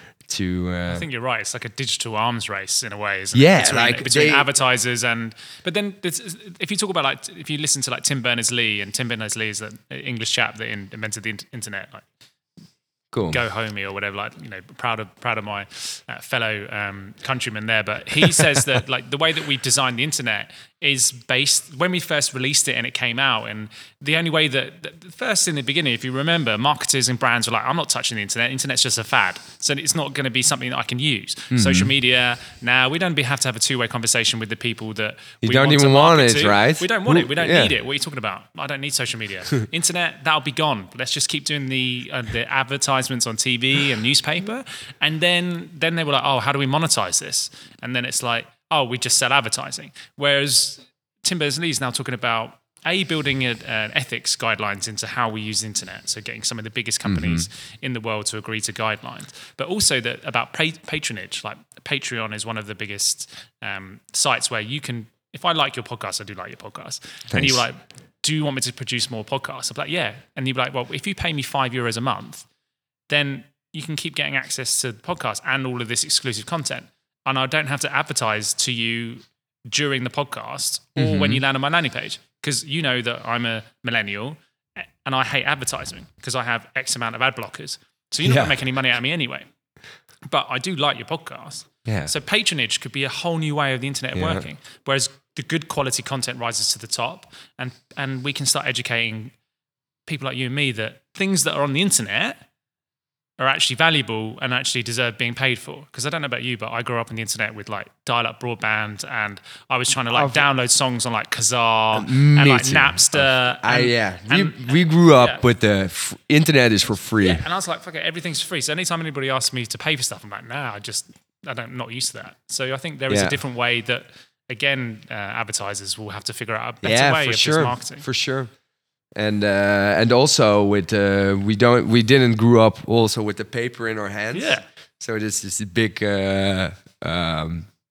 I think you're right. It's like a digital arms race in a way, isn't it? Between advertisers but then if you talk about if you listen to like Tim Berners-Lee, and Tim Berners-Lee is the English chap that invented the internet, like cool. Go homie or whatever, proud of my fellow countrymen there. But he says that like the way that we've designed the internet is based, when we first released it and it came out, and the only way that first in the beginning, if you remember, marketers and brands were like, I'm not touching the internet. Internet's just a fad, so it's not going to be something that I can use. Social media, now we don't have to have a two-way conversation with the people that you we don't want even to want market it, to. right? We don't want it. We don't need it. What are you talking about? I don't need social media. Internet, that'll be gone. Let's just keep doing the advertisements on TV and newspaper. And then they were like, how do we monetize this? And then it's like, we just sell advertising. Whereas Tim Berners-Lee is now talking about building an ethics guidelines into how we use the internet. So getting some of the biggest companies in the world to agree to guidelines, but also about patronage. Like Patreon is one of the biggest sites where you can, if I like your podcast, I do like your podcast. Thanks. And you're like, do you want me to produce more podcasts? I'm like, yeah. And you'd be like, well, if you pay me €5 a month, then you can keep getting access to the podcast and all of this exclusive content. And I don't have to advertise to you during the podcast or when you land on my landing page, because you know that I'm a millennial and I hate advertising because I have X amount of ad blockers. So you're not going to make any money out of me anyway. but I do like your podcast. Yeah. So patronage could be a whole new way of the internet working. Whereas the good quality content rises to the top, and we can start educating people like you and me that things that are on the internet are actually valuable and actually deserve being paid for. Because I don't know about you, but I grew up on the internet with like dial-up broadband, and I was trying to like download songs on like Kazaa and like too. Napster. We grew up with the internet is for free. Yeah, and I was like, fuck it, everything's free. So anytime anybody asks me to pay for stuff, I'm like, nah, I'm not used to that. So I think there is a different way that, again, advertisers will have to figure out a better way of this marketing. For sure. And also with we didn't grow up also with the paper in our hands. Yeah. So this is a big how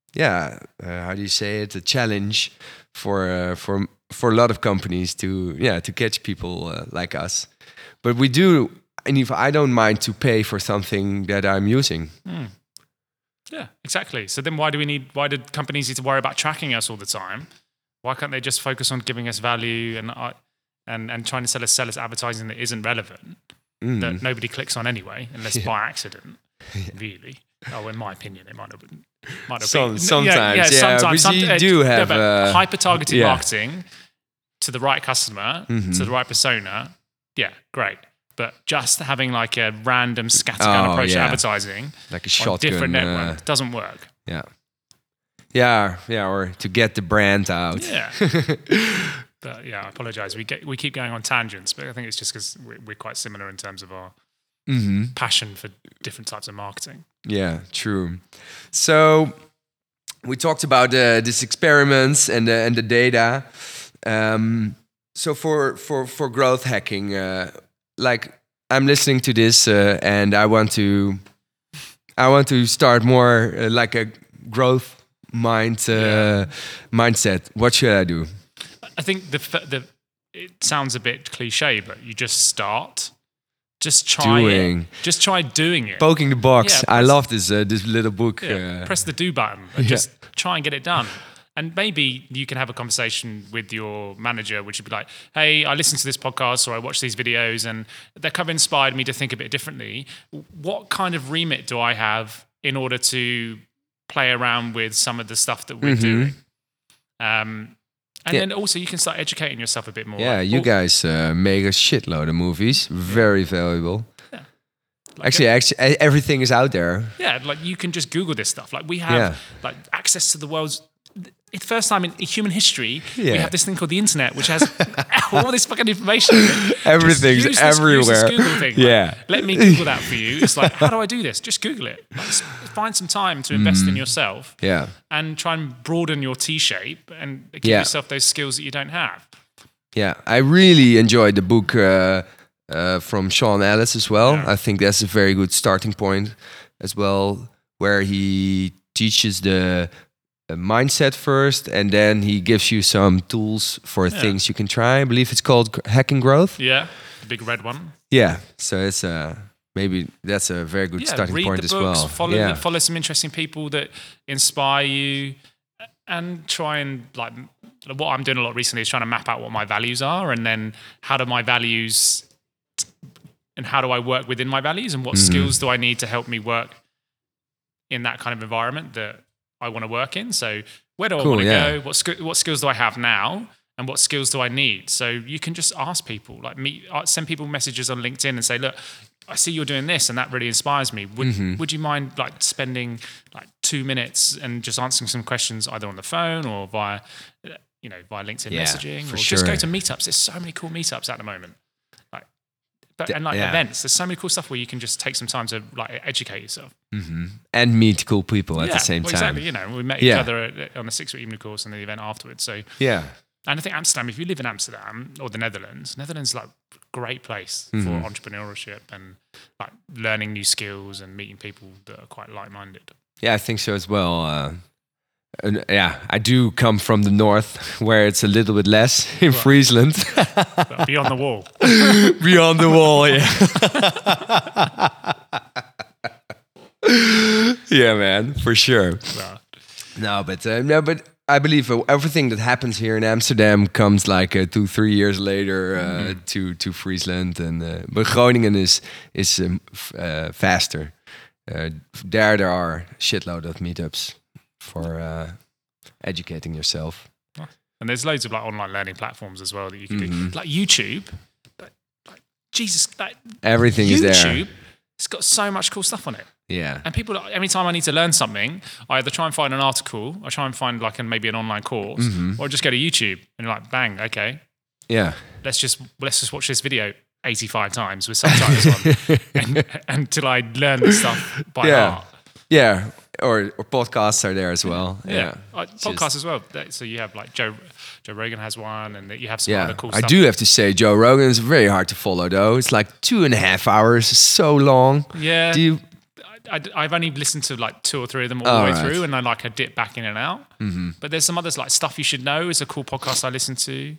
do you say it? A challenge for a lot of companies to catch people like us. But we do, and if I don't mind to pay for something that I'm using. Yeah, exactly. So then why do companies need to worry about tracking us all the time? Why can't they just focus on giving us value and trying to sell us advertising that isn't relevant, that nobody clicks on anyway, unless by accident, really? Oh, in my opinion, it might have been. Sometimes, sometimes you do have hyper-targeted marketing to the right customer, to the right persona. Yeah, great. But just having like a random scattergun approach to advertising, like a shotgun, different network, doesn't work. Yeah, or to get the brand out. Yeah. But I apologize. We keep going on tangents, but I think it's just because we're quite similar in terms of our passion for different types of marketing. Yeah, true. So we talked about these experiments and the data. So for growth hacking, like I'm listening to this and I want to start more like a growth mindset. What should I do? I think it sounds a bit cliche, but you just start. Just try it. Just try doing it. Poking the box. I love this little book. Press the do button and just try and get it done. And maybe you can have a conversation with your manager, which would be like, hey, I listened to this podcast or I watched these videos and that kind of inspired me to think a bit differently. What kind of remit do I have in order to play around with some of the stuff that we're doing? And then also you can start educating yourself a bit more. Yeah, you guys make a shitload of movies. Very valuable. Yeah. Actually, everything is out there. Yeah, like you can just Google this stuff. Like we have like access to the world's... It's the first time in human history we have this thing called the internet, which has all this fucking information. Everything's everywhere. Use this Google thing. Like, let me Google that for you. It's like, how do I do this? Just Google it. Like, find some time to invest in yourself. Yeah. And try and broaden your T-shape and give yourself those skills that you don't have. Yeah, I really enjoyed the book from Sean Ellis as well. Yeah. I think that's a very good starting point as well, where he teaches the mindset first, and then he gives you some tools for things you can try. I believe it's called Hacking Growth. Yeah, the big red one. Yeah, so it's maybe that's a very good starting point as well. Follow some interesting people that inspire you, and try and like what I'm doing a lot recently is trying to map out what my values are, and then how do I work within my values, and what skills do I need to help me work in that kind of environment that I want to work in. So where do I want to go? What skills do I have now? And what skills do I need? So you can just ask people, like send people messages on LinkedIn and say, look, I see you're doing this and that really inspires me. Would you mind like spending like 2 minutes and just answering some questions either on the phone or via LinkedIn messaging, or just go to meetups. There's so many cool meetups at the moment. Events. There's so many cool stuff where you can just take some time to like educate yourself and meet cool people at the same time. Exactly. We met each other on the 6-week evening course and the event afterwards. So and I think Amsterdam. If you live in Amsterdam or the Netherlands is like a great place for entrepreneurship and like learning new skills and meeting people that are quite like-minded. Yeah, I think so as well. I do come from the north, where it's a little bit less in Friesland. Beyond the wall. Beyond the wall, yeah. Yeah, man, for sure. But I believe everything that happens here in Amsterdam comes like 2-3 years later to Friesland, and but Groningen is faster. there are shitload of meetups for educating yourself. And there's loads of like online learning platforms as well that you can do, like YouTube. Like Jesus, like Everything YouTube, is there. it's got so much cool stuff on it. Yeah. And people, every time I need to learn something, I either try and find an article, I try and find like maybe an online course, or just go to YouTube and like, bang, okay, Yeah. let's just watch this video 85 times with subtitles on, until I learn the stuff by heart. Yeah. Or podcasts are there as well. Yeah. Podcasts as well. So you have like Joe Rogan has one, and you have some Yeah, other cool I stuff. do have to say, Joe Rogan is very hard to follow, though. It's like 2.5 hours, so long. Yeah. Do you? I've only listened to like 2 or 3 of them all the way through, and I like a dip back in and out. But there's some others like Stuff You Should Know is a cool podcast I listen to.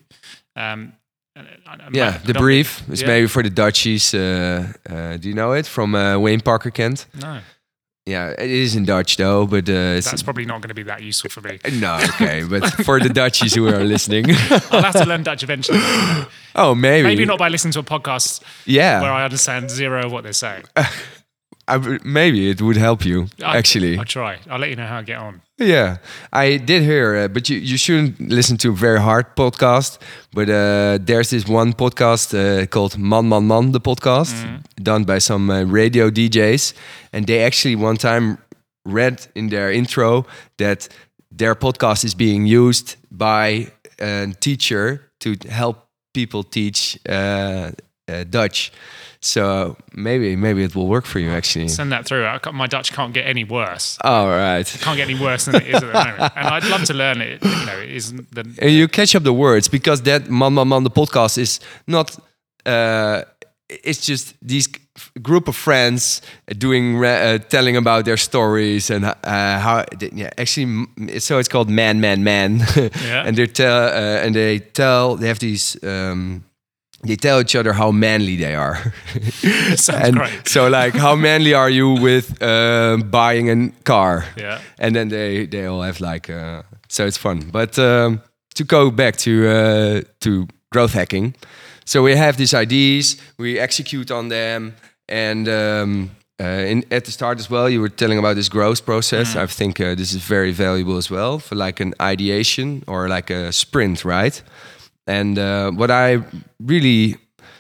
The Brief is maybe for the Dutchies. Do you know it from Wayne Parker Kent? No. Yeah, it is in Dutch though, but That's probably not going to be that useful for me. no, okay, but for the Dutchies who are listening, I'll have to learn Dutch eventually. oh, Maybe not by listening to a podcast Yeah, where I understand zero of what they're saying. maybe it would help you actually. I'll try. I'll let you know how I get on. Yeah, I did hear, but you shouldn't listen to a very hard podcast. But there's this one podcast called Man Man Man, the podcast, done by some radio DJs. And they actually one time read in their intro that their podcast is being used by a teacher to help people teach Dutch. So maybe it will work for you actually. Send that through. My Dutch can't get any worse. All right. It can't get any worse than it is at the moment. And I'd love to learn it. You know, it isn't the. And you catch up the words because that Man Man Man, the podcast is not. It's just these group of friends doing telling about their stories and how. Yeah, actually, so it's called Man Man Man. Yeah. And they have these. They tell each other how manly they are. Sounds great. So, like, how manly are you with buying a car? Yeah. And then they all have like, so it's fun. But to go back to growth hacking, so we have these ideas, we execute on them, and at the start as well, you were telling about this growth process. I think this is very valuable as well for like an ideation or like a sprint, right? And what I really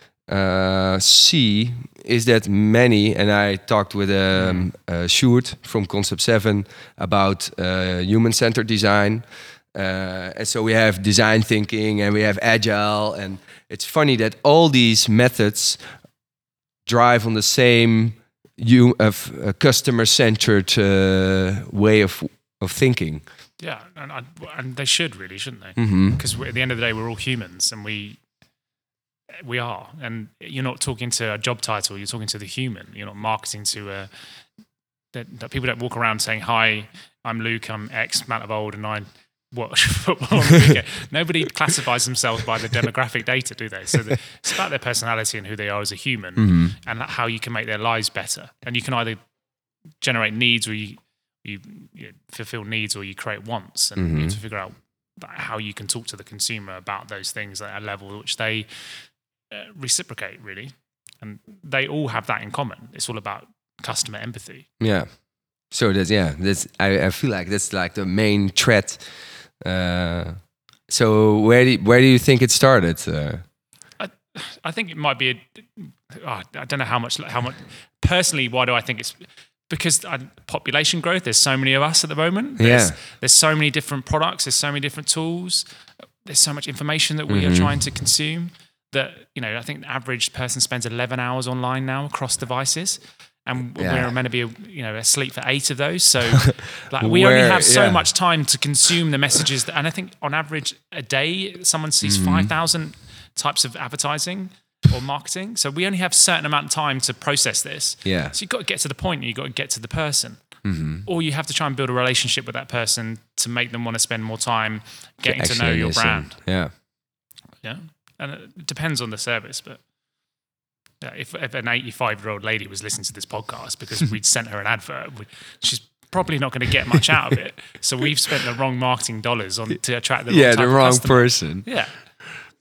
see is that many, and I talked with Sjoerd from Concept 7 about human-centered design. And so we have design thinking and we have agile. And it's funny that all these methods drive on the same customer-centered way of thinking. Yeah, and they should really, shouldn't they? Because at the end of the day, we're all humans, and we are. And you're not talking to a job title; you're talking to the human. You're not marketing to that people don't walk around saying, "Hi, I'm Luke. I'm X amount of old, and I watch football on the weekend." Nobody classifies themselves by the demographic data, do they? So it's about their personality and who they are as a human, and how you can make their lives better. And you can either generate needs, or you fulfill needs, or you create wants, and you have to figure out how you can talk to the consumer about those things at a level which they reciprocate, really. And they all have that in common. It's all about customer empathy. Yeah. So I feel like that's like the main thread. So where do you think it started? I think it might be I don't know how much. Personally, why do I think it's? Because population growth, there's so many of us at the moment. There's so many different products, there's so many different tools, there's so much information that we are trying to consume that, I think the average person spends 11 hours online now across devices. And we're meant to be, asleep for 8 of those. So we only have so much time to consume the messages. And I think on average a day, someone sees 5,000 types of advertising or marketing. So we only have a certain amount of time to process this. Yeah. So you've got to get to the point and you've got to get to the person. Or you have to try and build a relationship with that person to make them want to spend more time getting to know your brand. Yeah. Yeah. And it depends on the service, but if an 85-year-old lady was listening to this podcast because we'd sent her an advert, she's probably not going to get much out of it. So we've spent the wrong marketing dollars to attract the wrong type the of wrong customer. person. Yeah.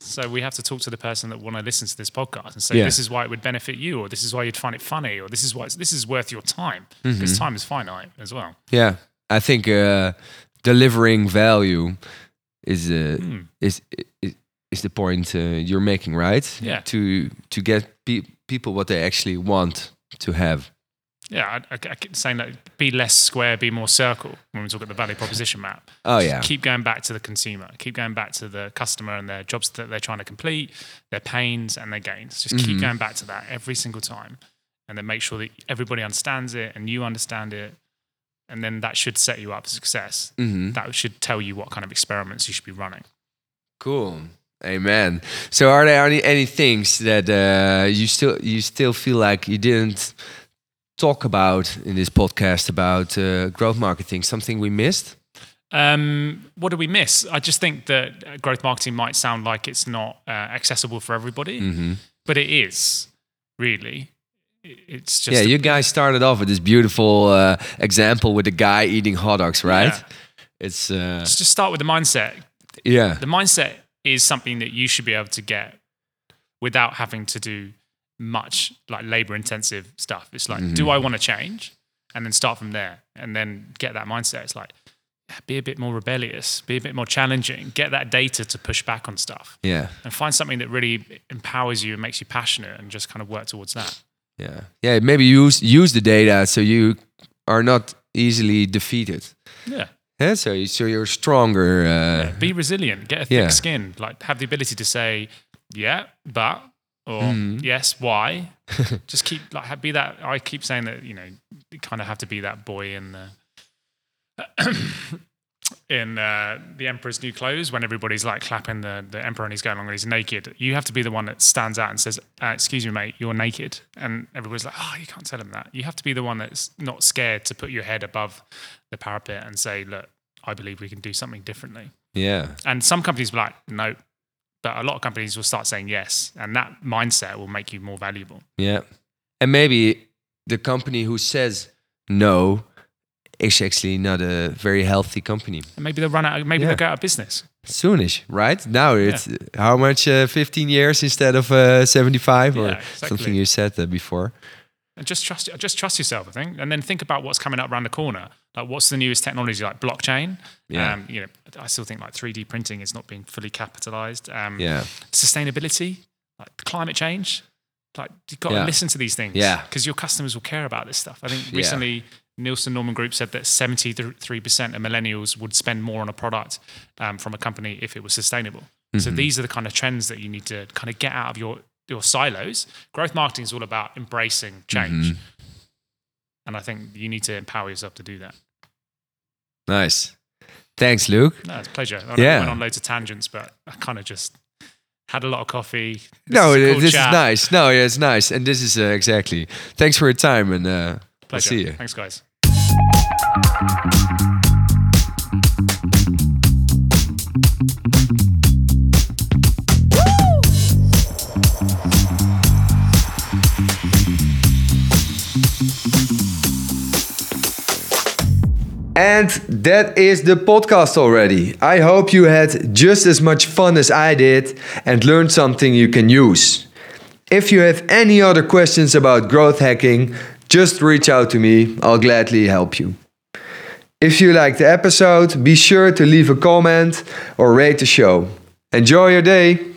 So we have to talk to the person that want to listen to this podcast and say, this is why it would benefit you, or this is why you'd find it funny, or this is worth your time. Because time is finite as well. Yeah, I think delivering value is the point you're making, right? Yeah. To get people what they actually want to have. Yeah, I keep saying that be less square, be more circle when we talk about the value proposition map. Oh, Just yeah. keep going back to the consumer. Keep going back to the customer and their jobs that they're trying to complete, their pains and their gains. Just keep going back to that every single time. And then make sure that everybody understands it and you understand it. And then that should set you up for success. That should tell you what kind of experiments you should be running. Cool. Amen. So are there any things that you still feel like you didn't talk about in this podcast about growth marketing? Something we missed? What did we miss? I just think that growth marketing might sound like it's not accessible for everybody, but it is, really. It's just you guys started off with this beautiful example with the guy eating hot dogs, right? Yeah. It's just start with the mindset. Yeah. The mindset is something that you should be able to get without having to do much like labor intensive stuff. It's like, do I want to change? And then start from there and then get that mindset. It's like, be a bit more rebellious, be a bit more challenging, get that data to push back on stuff. Yeah. And find something that really empowers you and makes you passionate and just kind of work towards that. Yeah. Yeah. Maybe use the data so you are not easily defeated. Yeah. Yeah. So you're stronger. Be resilient, get a thick skin, like have the ability to say, yeah, but, or yes, why? Just keep like be that. I keep saying that, you kind of have to be that boy in the Emperor's New Clothes when everybody's like clapping the Emperor and he's going along and he's naked. You have to be the one that stands out and says, excuse me, mate, you're naked. And everybody's like, oh, you can't tell him that. You have to be the one that's not scared to put your head above the parapet and say, look, I believe we can do something differently. Yeah. And some companies will be like, no. But a lot of companies will start saying yes. And that mindset will make you more valuable. Yeah. And maybe the company who says no is actually not a very healthy company. And maybe they'll run out, maybe they'll go out of business. Soonish, right? Now it's how much? 15 years instead of 75 or something you said before. And just trust yourself, I think. And then think about what's coming up around the corner. Like what's the newest technology, like blockchain? Yeah. I still think like 3D printing is not being fully capitalized. Sustainability, like climate change. Like you've got to listen to these things. Yeah. Because your customers will care about this stuff. I think recently Nielsen Norman Group said that 73% of millennials would spend more on a product from a company if it was sustainable. So these are the kind of trends that you need to kind of get out of your silos. Growth marketing is all about embracing change. And I think you need to empower yourself to do that. Nice. Thanks, Luke. No, it's a pleasure. I went on loads of tangents, but I kind of just had a lot of coffee. This is nice. No, yeah, it's nice. And this is exactly. Thanks for your time and I'll see you. Thanks, guys. And that is the podcast already. I hope you had just as much fun as I did and learned something you can use. If you have any other questions about growth hacking, just reach out to me. I'll gladly help you. If you liked the episode, be sure to leave a comment or rate the show. Enjoy your day.